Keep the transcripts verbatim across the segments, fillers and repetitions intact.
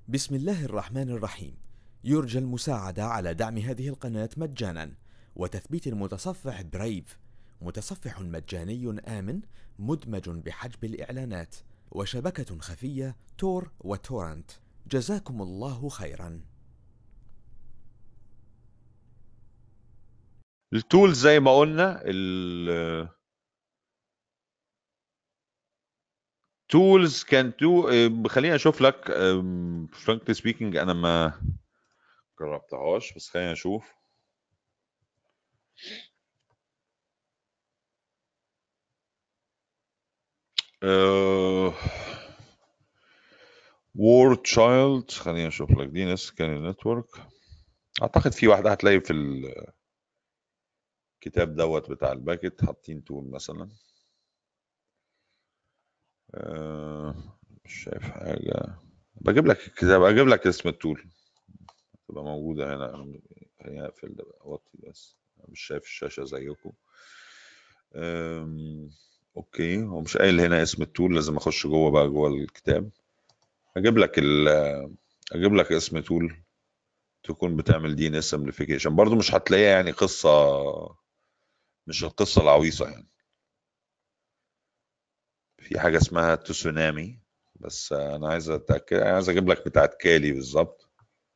بسم الله الرحمن الرحيم. يرجى المساعدة على دعم هذه القناة مجانا وتثبيت المتصفح برايف، متصفح مجاني آمن مدمج بحجب الإعلانات وشبكة خفية تور وتورنت. جزاكم الله خيرا. التولز زي ما قلنا ال tools can do. خليني اشوف لك frankly speaking انا ما جربتهاش، بس خلينا اشوف. وورد تشايلد، خليني اشوف لك دي ناس كان نتورك. اعتقد في واحده هتلاقي في الكتاب دوت بتاع الباكت حاطين تول مثلا. أه مش شايف حاجه. بجيب لك الكتاب، اجيب لك اسم التول تبقى موجوده هنا. خليني اقفل ده بقى، اوطي بس مش شايف الشاشه زيكم. أم، اوكي، هو مش قايل هنا اسم التول، لازم اخش جوه بقى جوه الكتاب. اجيب لك ال اجيب لك اسم تول تكون بتعمل دي ان اس امبليفيكيشن. برضو مش هتلاقيها يعني قصه، مش القصه العويصه يعني. في حاجه اسمها تسونامي، بس انا عايز اتاكد، عايز اجيب لك بتاعت كالي بالظبط.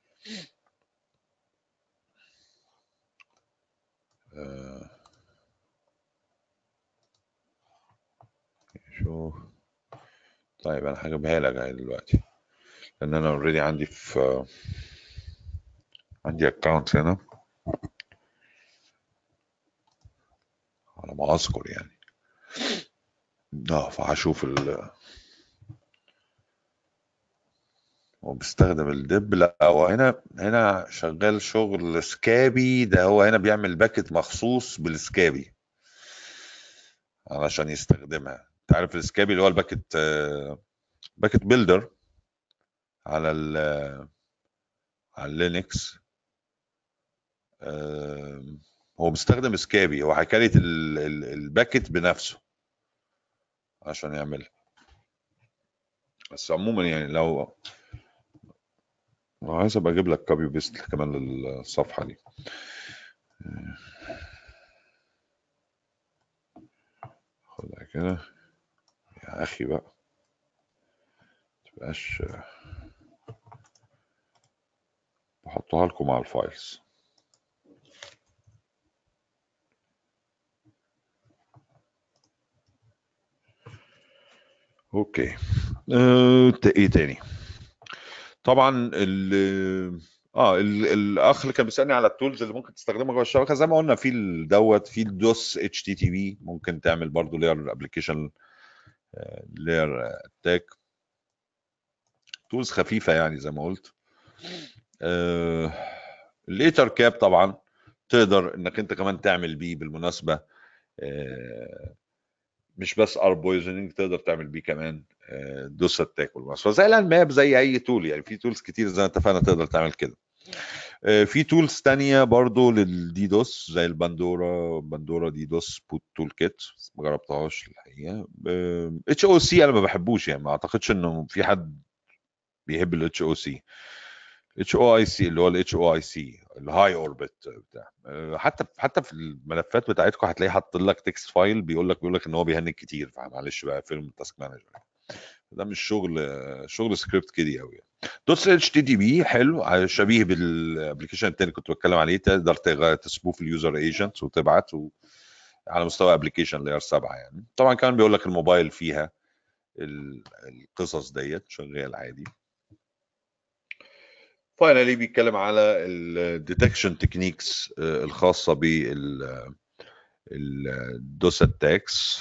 أه، شوف. طيب انا هجيبها لك اهي دلوقتي، لان انا اوريدي عندي في عندي اكونت هنا على ما اذكر يعني. اه فهشوف ال... هو بيستخدم الدب. لا هو هنا هنا شغال شغل سكابي. ده هو هنا بيعمل باكت مخصوص بالسكابي علشان يستخدمها. انت عارف السكابي اللي هو الباكت آه، باكت بيلدر على ال على اللينكس. آه، هو مستخدم سكابي، هو حكايه الباكت بنفسه عشان يعملها. بس عموما يعني لو لو عايز ابقى اجيب لك كوبي بيست كمان للصفحه دي. خدها كده يا اخي بقى، متبقاش بحطها لكم على الفايلز. اوكي. اه ايه تاني؟ طبعا ال اه ال- الاخ اللي كان بيسالني على التولز اللي ممكن تستخدمها جوه الشبكه، زي ما قلنا في دوت في الدوس اتش تي تي بي، ممكن تعمل برضو لير ابلكيشن لير اتاك. تولز خفيفه يعني زي ما قلت. آه الايثر كاب طبعا تقدر انك انت كمان تعمل بيه بالمناسبه. آه مش بس ار بويزنينج، تقدر تعمل بيه كمان آه دوس اتاك بالمناسبه، زي الانماب، زي اي تول يعني. في تولز كتير زي ما اتفقنا تقدر تعمل كده. في تولز تانية برضو للديدوس زي الباندورا. باندورا ديدوس بوت تول كيت، ما جربتهاش الحقيقه. اتش او سي انا ما بحبوش يعني، ما اعتقدش انه في حد بيحب الاتش او سي. اتش او اي سي اللي هو الاتش او اي سي الهاي اوربت بتاع. آه، حتى حتى في الملفات بتاعتكم هتلاقيه حاط لك تكست فايل بيقول لك بيقول لك ان هو بيهنج كتير، فمعلش بقى فيلم التاسك مانجر. ده مش شغل شغل سكريبت كده قوي يعني. دوت اتش تي تي بي حلو، شبيه بالابلكيشن التاني كنت بتكلم عليه. تقدر تغ- تسبوف اليوزر ايجنت وتبعت و... على مستوى ابلكيشن لاير سبعة يعني. طبعا كان بيقول لك الموبايل فيها ال- القصص ديت شغال عادي. فاينلي بيتكلم على الديتكشن تكنيكس الخاصه بال الدوس اتاكس.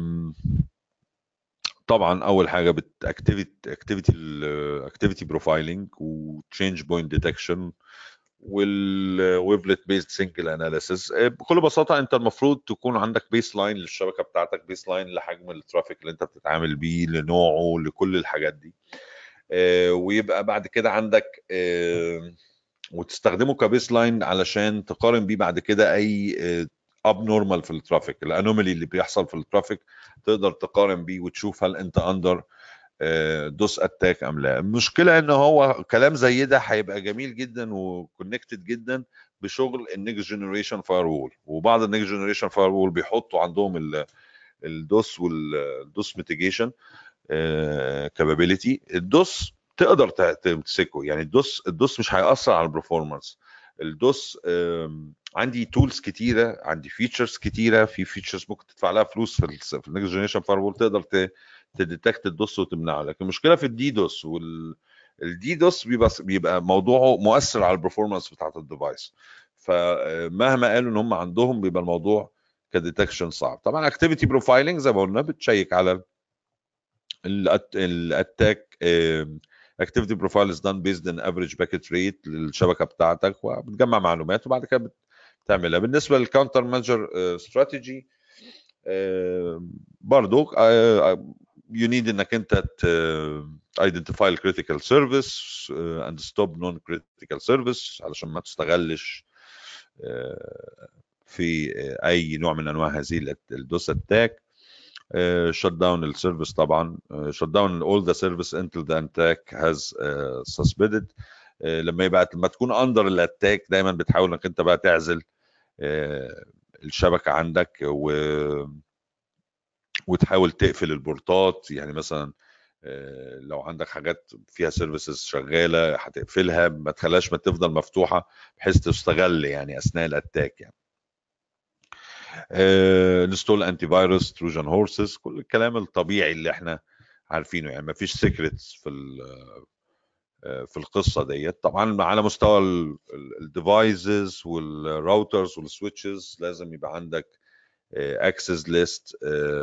طبعا اول حاجه باكتيفيتي اكتيفيتي الاكتيفيتي بروفايلنج وتشينج بوينت ديتكشن والويبلت بيست سنجل اناليسيس. بكل بساطه انت المفروض تكون عندك بيس لاين للشبكه بتاعتك، بيس لاين لحجم الترافيك اللي انت بتتعامل بيه، لنوعه، لكل الحاجات دي. آه، ويبقى بعد كده عندك آه، وتستخدمه كبيس لاين علشان تقارن بيه بعد كده اي اب نورمال في الترافيك، الانومالي اللي بيحصل في الترافيك، تقدر تقارن بيه وتشوف هل انت اندر دوس اتاك ام لا. المشكله ان هو كلام زي ده هيبقى جميل جدا وكونكتد جدا بشغل النكست جنريشن فاير وول، وبعض النكست جنريشن فاير وول بيحطوا عندهم الدوس والدوس ميتيجيشن كابابيلتي. الدوس تقدر تمسكه، يعني الدوس الدوس مش هيأثر على البرفورمانس. الدوس عندي تولز كتيره، عندي فيتشرز كتيره، في فيتشرز ممكن تدفع لها فلوس في في النكست جنريشن فاير وول تقدر تديتكت الدوس وتمنعه. لكن المشكله في الدي دوس، والدي دوس بيبقى بيبقى موضوعه مؤثر على البرفورمانس بتاعت الديفايس. فمهما قالوا ان هم عندهم بيبقى الموضوع كديتكشن صعب. طبعا اكتيفيتي بروفايلنج زي ما قلنا بتشيك على الاتاك. اكتيفيتي بروفايل از دان بيزد ان افريج باكيت ريت للشبكه بتاعتك، وبتجمع معلومات وبعد كده بتعملها. بالنسبه للكاونتر مانجر استراتيجي برضو you need انك انت identify the critical service uh, and stop non-critical service علشان ما تستغلش uh, في اي نوع من انواع هذه الدوس اتاك. shut down السيرفيس طبعا، shut down all the service until the attack has uh, suspended. uh, لما يبقى لما تكون اندر الاتاك دايما بتحاول انك انت بقى تعزل uh, الشبكه عندك و وتحاول تقفل البورتات. يعني مثلا لو عندك حاجات فيها سيرفيسز شغاله هتقفلها، ما تخليهاش ما تفضل مفتوحه بحيث تستغل يعني اثناء الاتاك. يعني انستول انتي فيروس، تروجان هورسز، كل الكلام الطبيعي اللي احنا عارفينه. يعني ما فيش سيكريتس في في القصه ديت. طبعا على مستوى الديفايسز والراوترز والسويتشز لازم يبقى عندك اكسس ليست.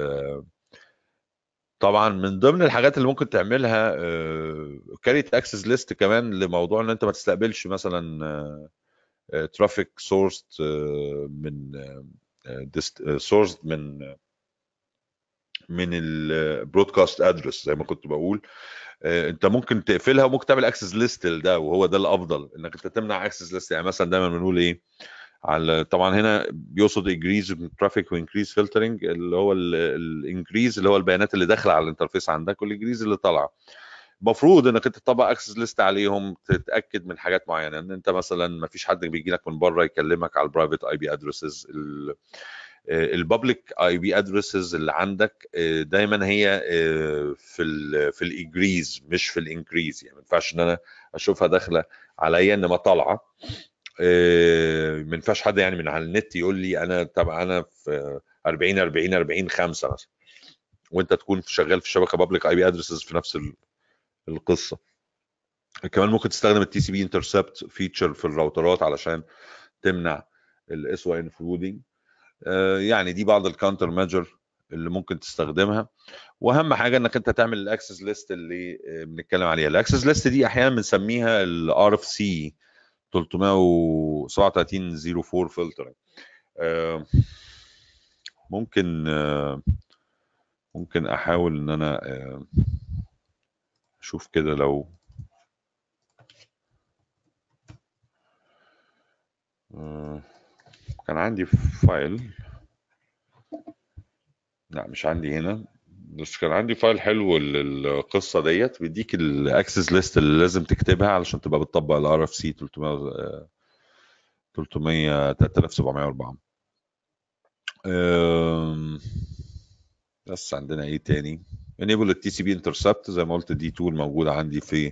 طبعا من ضمن الحاجات اللي ممكن تعملها كاريت اكسس ليست كمان لموضوع ان انت ما تستقبلش مثلا ترافيك سورس من سورس من من البرودكاست ادرس زي ما كنت بقول. انت ممكن تقفلها وممكن تعمل اكسس ليست لده، وهو ده الافضل انك انت تمنع اكسس ليست. يعني مثلا دايما بنقول ايه على، طبعا هنا بيقصد انكريز ترافيك وانكريز فلترنج، اللي هو الانكريز اللي هو البيانات اللي داخله على الانترفيس عندك، والانكريز اللي طالعه. المفروض انك انت تطبق اكسس ليست عليهم، تتاكد من حاجات معينه، ان انت مثلا ما فيش حد بيجي لك من بره يكلمك على البرايفت اي بي ادرسز. البابليك اي بي ادرسز اللي عندك دايما هي في ال في الاجريز مش في الانكريز. يعني ما ينفعش ان انا اشوفها داخله عليا انما طالعه. ما ينفعش حد يعني من على النت يقول لي انا طب انا في أربعين أربعين أربعين خمسة مثلا، وانت تكون شغال في الشبكه بابليك اي بي ادرسز في نفس القصه. كمان ممكن تستخدم التي سي بي انترسبت فيتشر في الراوترات علشان تمنع الاس واي انفلودنج. يعني دي بعض الكاونتر ميجر اللي ممكن تستخدمها. واهم حاجه انك انت تعمل الاكسس ليست اللي بنتكلم عليها. الاكسس ليست دي احيانا بنسميها الار اف سي ثلاثمية وسبعة وثلاثين صفر أربعة فلتر. ممكن ممكن احاول ان انا اشوف كده لو كان عندي فايل، لا مش عندي هنا، بس كان عندي فايل حلو للقصه ديت بيديك الاكسس ليست اللي لازم تكتبها علشان تبقى بتطبق الار اف سي ثلاثمية ثلاثمية تلاتة آلاف وسبعمية وأربعة. بس عندنا ايه تاني؟ enable التي سي بي انترسبت زي ما قلت، دي تول موجوده عندي في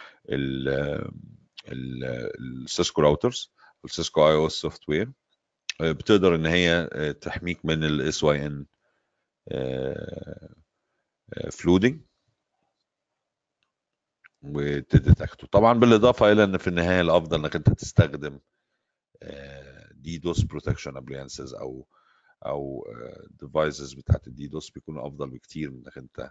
السيسكو راوترز والسيسكو اي او اس سوفت وير. بتقدر ان هي تحميك من الاس واي ان فلودنج وتديتكته. طبعا بالاضافه الى ان في النهايه الافضل انك انت تستخدم دي دوس بروتكشن ابليانسز او او ديفايسز بتاعت الدي دوس، بيكونوا افضل بكتير من انك انت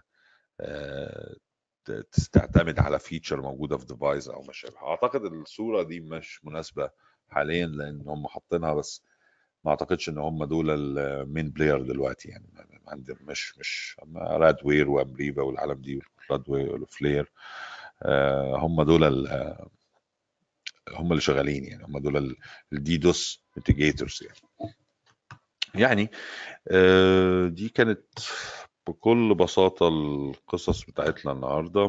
تعتمد على فيتشر موجوده في ديفايس او ما شابه. اعتقد الصوره دي مش مناسبه حاليا لان هم حاطينها، بس ما اعتقدش ان هم دول المين بلاير دلوقتي. يعني عندهم مش مش رادوير وامريبا والعالم دي رادوير وفلير، هم دول هم اللي شغالين. يعني هم دول الدي دوس ميتيجيتورز. يعني يعني دي كانت بكل بساطة القصص بتاعتنا النهاردة.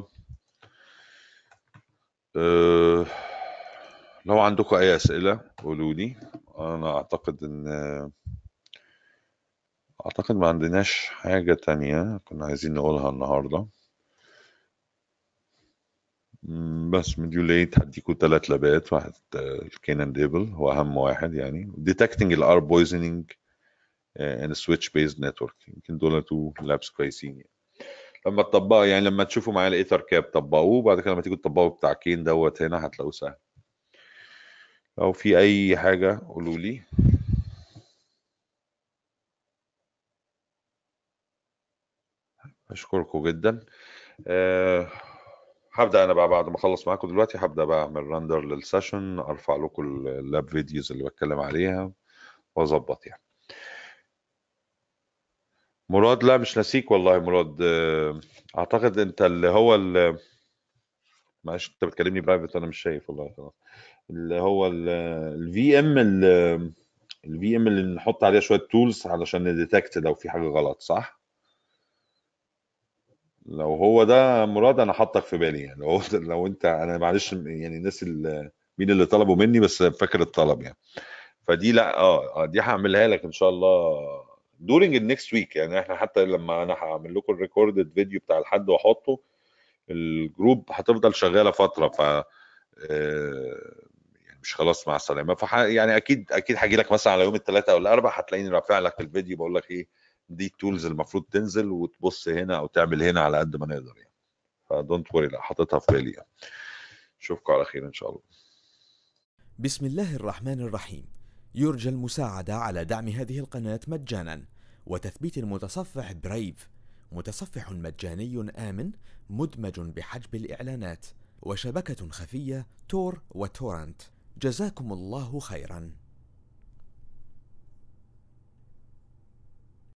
أه لو عندكم أي أسئلة قولوا لي. أنا أعتقد إن أعتقد ما عندناش حاجة تانية كنا عايزين نقولها النهاردة. بس مديوليت هديكوا تلات لابات. واحد الكينان ديبل هو أهم واحد يعني. detecting الار بويزنينج and switch based network يمكن دول تو لابس كويسين يعني. لما تطبقوا يعني لما تشوفوا معايا الايثر كاب طبقوه، بعد كده لما تيجوا تطبقوا بتاع كين دوت هنا هتلاقوه سهل. لو في اي حاجة قولوا لي. اشكركم جدا. أه هبدأ انا بقى بعد ما اخلص معاكم دلوقتي هبدأ بقى اعمل رندر للسيشن، ارفع لكم اللاب فيديوز اللي بتكلم عليها واظبط يعني. مراد، لا مش ناسيك والله مراد. أه اعتقد انت اللي هو اللي معلش انت بتكلمني برايفت انا مش شايف والله. خلاص اللي هو الفي ام الفي ام اللي نحط عليها شويه تولز علشان نديتكت لو في حاجه غلط، صح؟ لو هو ده مراد انا حاطك في بالي يعني. لو لو انت انا معلش يعني الناس اللي مين اللي طلبوا مني بس فاكر الطلب يعني. فدي لا اه آه، دي هعملها لك ان شاء الله دورينج النكست ويك يعني. احنا حتى لما انا هعمل لكم الريكوردد فيديو بتاع الحد واحطه الجروب هتفضل شغاله فتره. ف آه، يعني مش خلاص مع السلامه. فح يعني اكيد اكيد هاجي لك مثلا على يوم الثلاثاء او الاربعاء هتلاقيني رافع لك الفيديو بقول لك ايه دي التولز المفروض تنزل وتبص هنا او تعمل هنا على قد ما نقدر يعني. فدونت وري، لا حاططها في بالي يعني. اشوفكم على خير ان شاء الله. بسم الله الرحمن الرحيم. يرجى المساعدة على دعم هذه القناة مجانا وتثبيت المتصفح برايف، متصفح مجاني آمن مدمج بحجب الإعلانات وشبكة خفية تور وتورنت. جزاكم الله خيرا.